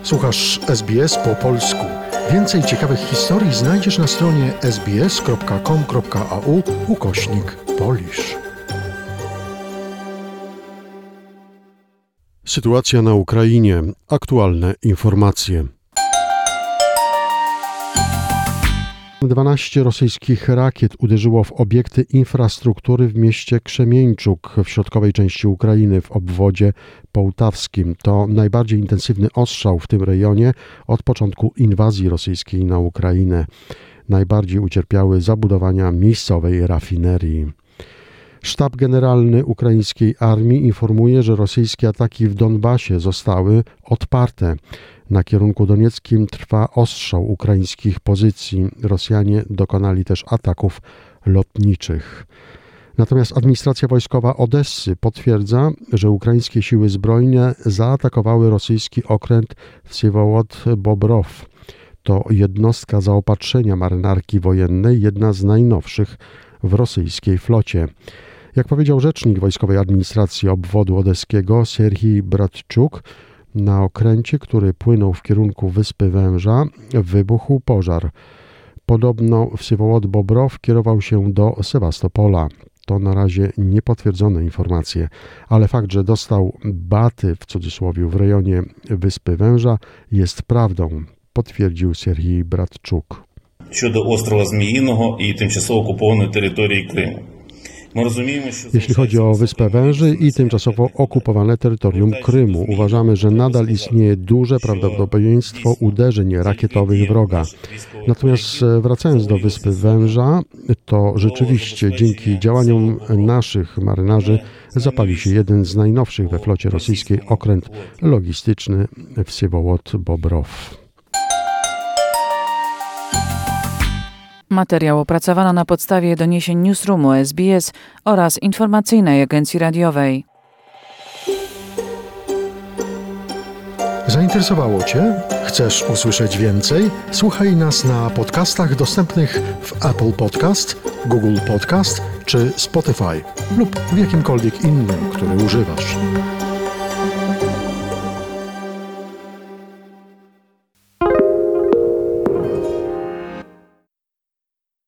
Słuchasz SBS po polsku. Więcej ciekawych historii znajdziesz na stronie sbs.com.au/Polish. Sytuacja na Ukrainie. Aktualne informacje. 12 rosyjskich rakiet uderzyło w obiekty infrastruktury w mieście Krzemieńczuk w środkowej części Ukrainy w obwodzie połtawskim. To najbardziej intensywny ostrzał w tym rejonie od początku inwazji rosyjskiej na Ukrainę. Najbardziej ucierpiały zabudowania miejscowej rafinerii. Sztab Generalny ukraińskiej armii informuje, że rosyjskie ataki w Donbasie zostały odparte. Na kierunku donieckim trwa ostrzał ukraińskich pozycji. Rosjanie dokonali też ataków lotniczych. Natomiast administracja wojskowa Odessy potwierdza, że ukraińskie siły zbrojne zaatakowały rosyjski okręt Wsiewołod-Bobrow. To jednostka zaopatrzenia marynarki wojennej, jedna z najnowszych w rosyjskiej flocie. Jak powiedział rzecznik wojskowej administracji obwodu odeskiego Serhij Bratczuk, na okręcie, który płynął w kierunku Wyspy Węża, wybuchł pożar. Podobno Wsiewołod-Bobrow kierował się do Sewastopola. To na razie niepotwierdzone informacje, ale fakt, że dostał baty w cudzysłowie w rejonie Wyspy Węża jest prawdą, potwierdził Serhij Bratczuk. Щодо острова Зміїного і тимчасово окупованої території Криму. Jeśli chodzi o Wyspę Węży i tymczasowo okupowane terytorium Krymu, uważamy, że nadal istnieje duże prawdopodobieństwo uderzeń rakietowych wroga. Natomiast wracając do Wyspy Węża, to rzeczywiście dzięki działaniom naszych marynarzy zapalił się jeden z najnowszych we flocie rosyjskiej okręt logistyczny Wsiewołod-Bobrow. Materiał opracowano na podstawie doniesień Newsroomu SBS oraz informacyjnej agencji radiowej. Zainteresowało Cię? Chcesz usłyszeć więcej? Słuchaj nas na podcastach dostępnych w Apple Podcast, Google Podcast czy Spotify lub w jakimkolwiek innym, który używasz.